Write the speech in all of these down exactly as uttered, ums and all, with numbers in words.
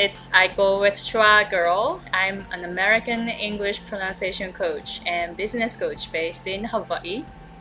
it's I Go with Schwa Girl. I'm an American English pronunciation coach and business coach based in Hawaii.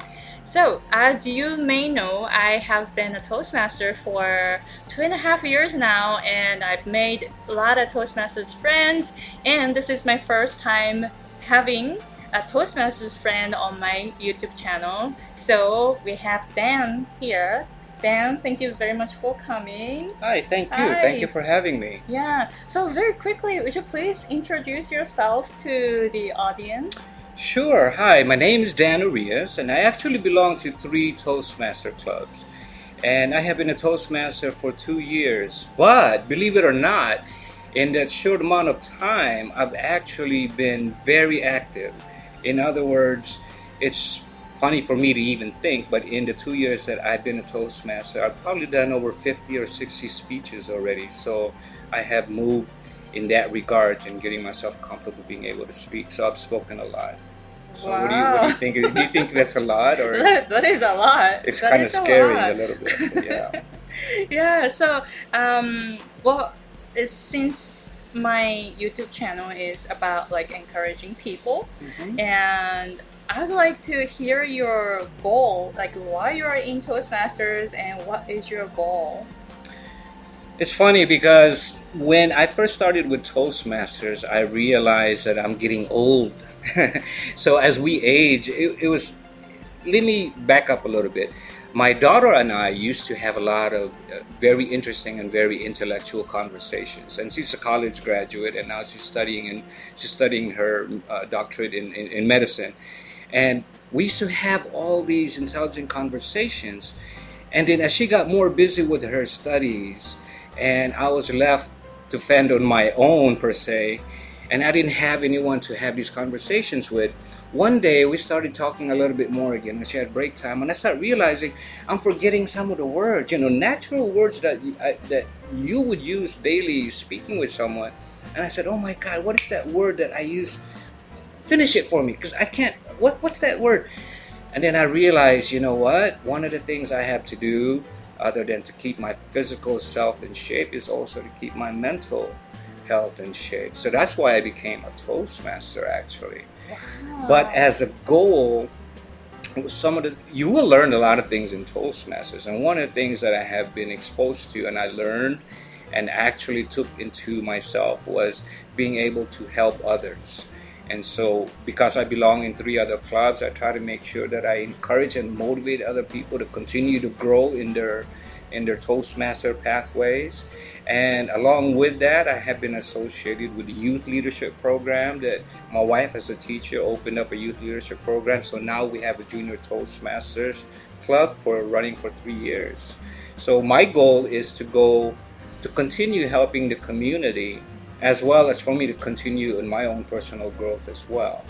So, as you may know, I have been a Toastmaster for two and a half years now, and I've made a lot of Toastmasters friends, and this is my first time having a Toastmasters friend on my YouTube channel. So, we have Dan here. Dan, thank you very much for coming. Hi, thank you. Hi. Thank you for having me. Yeah, so very quickly, would you please introduce yourself to the audience? Sure. Hi, my name is Dan Arias, and I actually belong to three Toastmaster clubs. And I have been a Toastmaster for two years. But believe it or not, in that short amount of time, I've actually been very active. In other words, it's funny for me to even think, but in the two years that I've been a Toastmaster, I've probably done over fifty or sixty speeches already. So I have moved in that regard and getting myself comfortable being able to speak. So I've spoken a lot. So Wow. what do you what do you think? Do you think that's a lot, or that, that is a lot. it's That kind of is a scary lot. a little bit? But yeah. Yeah, so um, well, it's- since my YouTube channel is about like encouraging people, Mhm. and I'd like to hear your goal, like why you are in Toastmasters and what is your goal. It's funny because when I first started with Toastmasters, I realized that I'm getting old. So as we age, it, it was. Let me back up a little bit. My daughter and I used to have a lot of uh, very interesting and very intellectual conversations. And she's a college graduate, and now she's studying and she's studying her uh, doctorate in, in, in medicine. And we used to have all these intelligent conversations. And then as she got more busy with her studies, and I was left to fend on my own per se, and I didn't have anyone to have these conversations with, one day we started talking a little bit more again when she had break time, and I started realizing I'm forgetting some of the words, you know, natural words that you, I, that you would use daily speaking with someone. And I said, oh my God, what is that word that I use? Finish it for me, because I can't, what, what's that word? And then I realized, you know what, one of the things I have to do other than to keep my physical self in shape is also to keep my mental health in shape. So that's why I became a Toastmaster actually. Wow. But as a goal, some of the you will learn a lot of things in Toastmasters, and one of the things that I have been exposed to and I learned and actually took into myself was being able to help others. And so because I belong in three other clubs, I try to make sure that I encourage and motivate other people to continue to grow in their in their Toastmaster pathways. And along with that, I have been associated with the youth leadership program that my wife as a teacher opened up a youth leadership program. So now we have a junior Toastmasters club for running for three years. So my goal is to go to continue helping the community, as well as for me to continue in my own personal growth as well.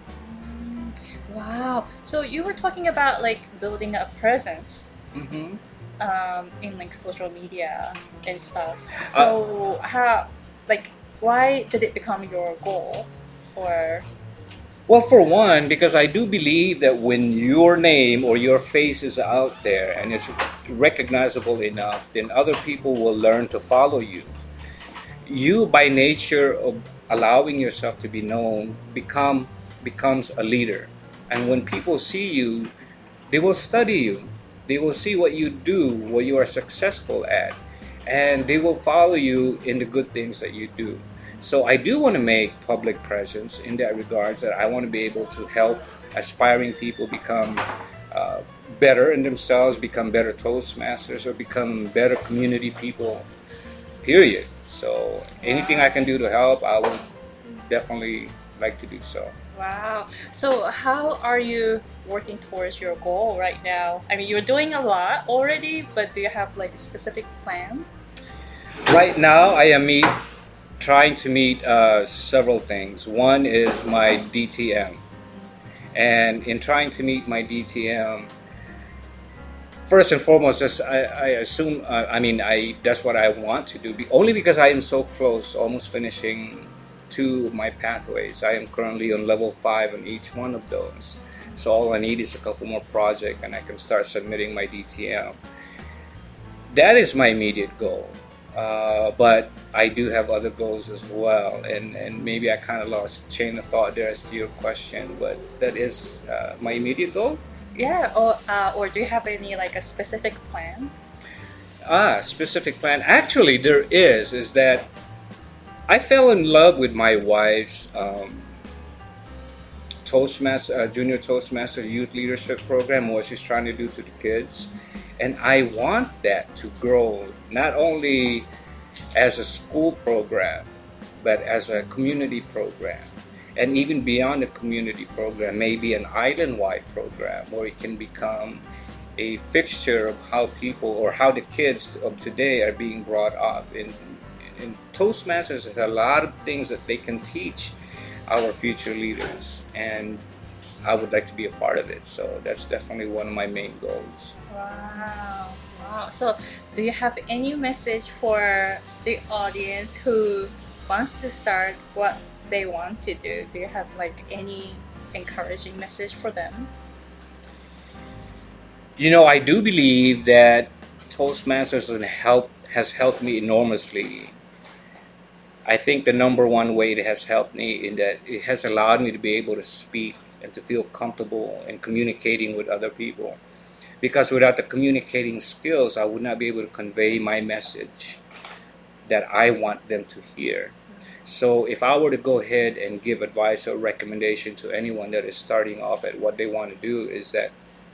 Wow. So you were talking about like building a presence Mm-hmm. um, in like social media and stuff. So how, like, why did it become your goal, or? Well, for one, because I do believe that when your name or your face is out there and it's recognizable enough, then other people will learn to follow you. You, by nature of allowing yourself to be known, become becomes a leader. And when people see you, they will study you. They will see what you do, what you are successful at, and they will follow you in the good things that you do. So I do want to make public presence in that regards, that I want to be able to help aspiring people become uh, better in themselves, become better Toastmasters, or become better community people, period. So anything I can do to help, I would definitely like to do so. Wow. So how are you working towards your goal right now? I mean, you're doing a lot already, but do you have like a specific plan? Right now, I am meet, trying to meet uh, several things. One is my D T M. And in trying to meet my D T M, first and foremost, just, I, I assume, uh, I mean, I that's what I want to do. Be, only because I am so close, almost finishing two of my pathways. I am currently on level five on each one of those. So all I need is a couple more projects and I can start submitting my D T M. That is my immediate goal. Uh, but I do have other goals as well, and, and maybe I kind of lost chain of thought there as to your question, but that is uh, my immediate goal. Yeah, or uh, or do you have any like a specific plan? Ah, specific plan. Actually, there is. Is that I fell in love with my wife's um, Toastmaster, uh, Junior Toastmaster Youth Leadership Program, what she's trying to do to the kids. And I want that to grow not only as a school program, but as a community program. And even beyond the community program, maybe an island-wide program where it can become a fixture of how people or how the kids of today are being brought up. In, in Toastmasters, there's a lot of things that they can teach our future leaders, and I would like to be a part of it. So that's definitely one of my main goals. Wow, wow. So do you have any message for the audience who wants to start what they want to do? Do you have like any encouraging message for them? You know, I do believe that Toastmasters has helped, has helped me enormously. I think the number one way it has helped me in that it has allowed me to be able to speak and to feel comfortable in communicating with other people. Because without the communicating skills, I would not be able to convey my message that I want them to hear. So if I were to go ahead and give advice or recommendation to anyone that is starting off at what they want to do, is that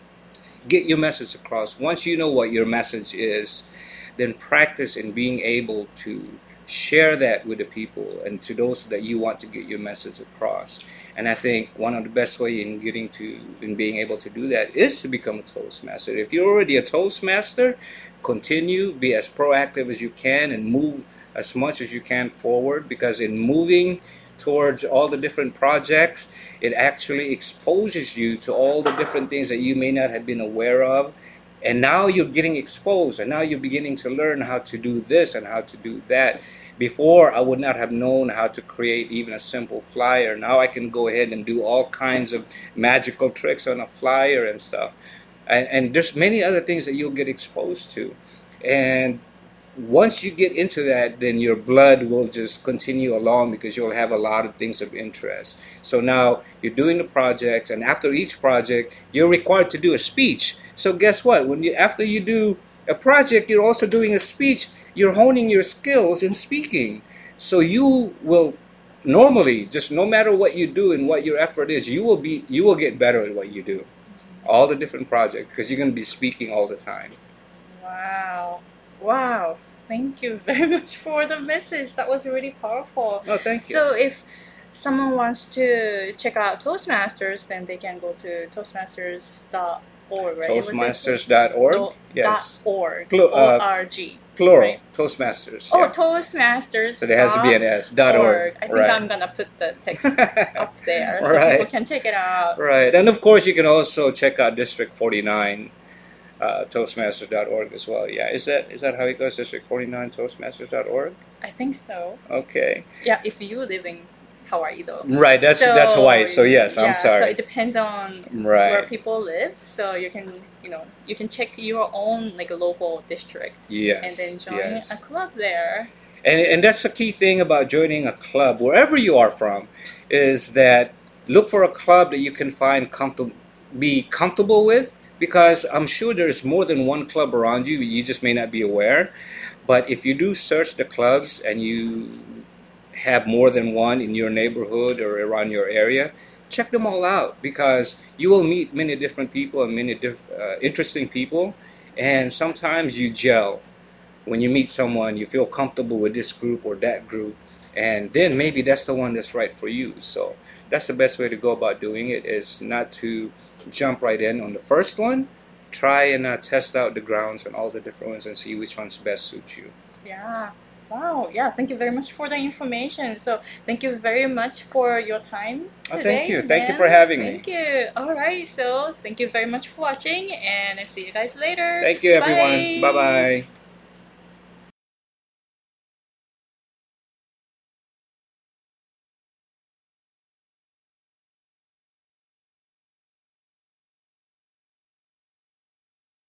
get your message across. Once you know what your message is, then practice in being able to share that with the people and to those that you want to get your message across. And I think one of the best way in getting to, in being able to do that is to become a Toastmaster. If you're already a Toastmaster, continue, be as proactive as you can and move as much as you can forward, because in moving towards all the different projects, it actually exposes you to all the different things that you may not have been aware of. And now you're getting exposed, and now you're beginning to learn how to do this and how to do that. Before, I would not have known how to create even a simple flyer. Now I can go ahead and do all kinds of magical tricks on a flyer and stuff. And, and there's many other things that you'll get exposed to. And once you get into that, then your blood will just continue along, because you'll have a lot of things of interest. So now you're doing the projects, and after each project, you're required to do a speech. So guess what? When you after you do a project, you're also doing a speech. You're honing your skills in speaking. So you will normally, just no matter what you do and what your effort is, you will be you will get better at what you do. All the different projects, because you're going to be speaking all the time. Wow. Wow. Thank you very much for the message. That was really powerful. Oh, thank you. So if someone wants to check out Toastmasters, then they can go to toastmasters dot org, right? Toastmasters dot org? Yes. .org. Plu- uh, O R G. Plural. Right? Toastmasters. Oh, Yeah. Toastmasters. So there has to be an S. Dot org. I think Right. I'm gonna put the text up there so Right. people can check it out. Right. And of course, you can also check out District forty-nine, uh, toastmasters dot org as well. Yeah. Is that is that how it goes? District forty-nine, toastmasters dot org? I think so. Okay. Yeah, if you live in Hawaii though. Right. That's So, that's Hawaii. So yes, yeah, I'm sorry. So it depends on Right. where people live. So you can, you know, you can check your own like a local district Yes. and then join yes. a club there. And, and that's the key thing about joining a club, wherever you are from, is that look for a club that you can find comfortable, be comfortable with, because I'm sure there's more than one club around you, you just may not be aware. But if you do search the clubs and you have more than one in your neighborhood or around your area, check them all out, because you will meet many different people and many diff- uh, interesting people, and sometimes you gel. When you meet someone, you feel comfortable with this group or that group, and then maybe that's the one that's right for you. So that's the best way to go about doing it, is not to jump right in on the first one. Try and uh, test out the grounds and all the different ones and see which ones best suit you. Yeah. Wow. Yeah. Thank you very much for the information. So thank you very much for your time today. Oh, thank you. Thank you Ben. for having thank me. Thank you. All right. So thank you very much for watching, and I see you guys later. Thank you, everyone. Bye-bye.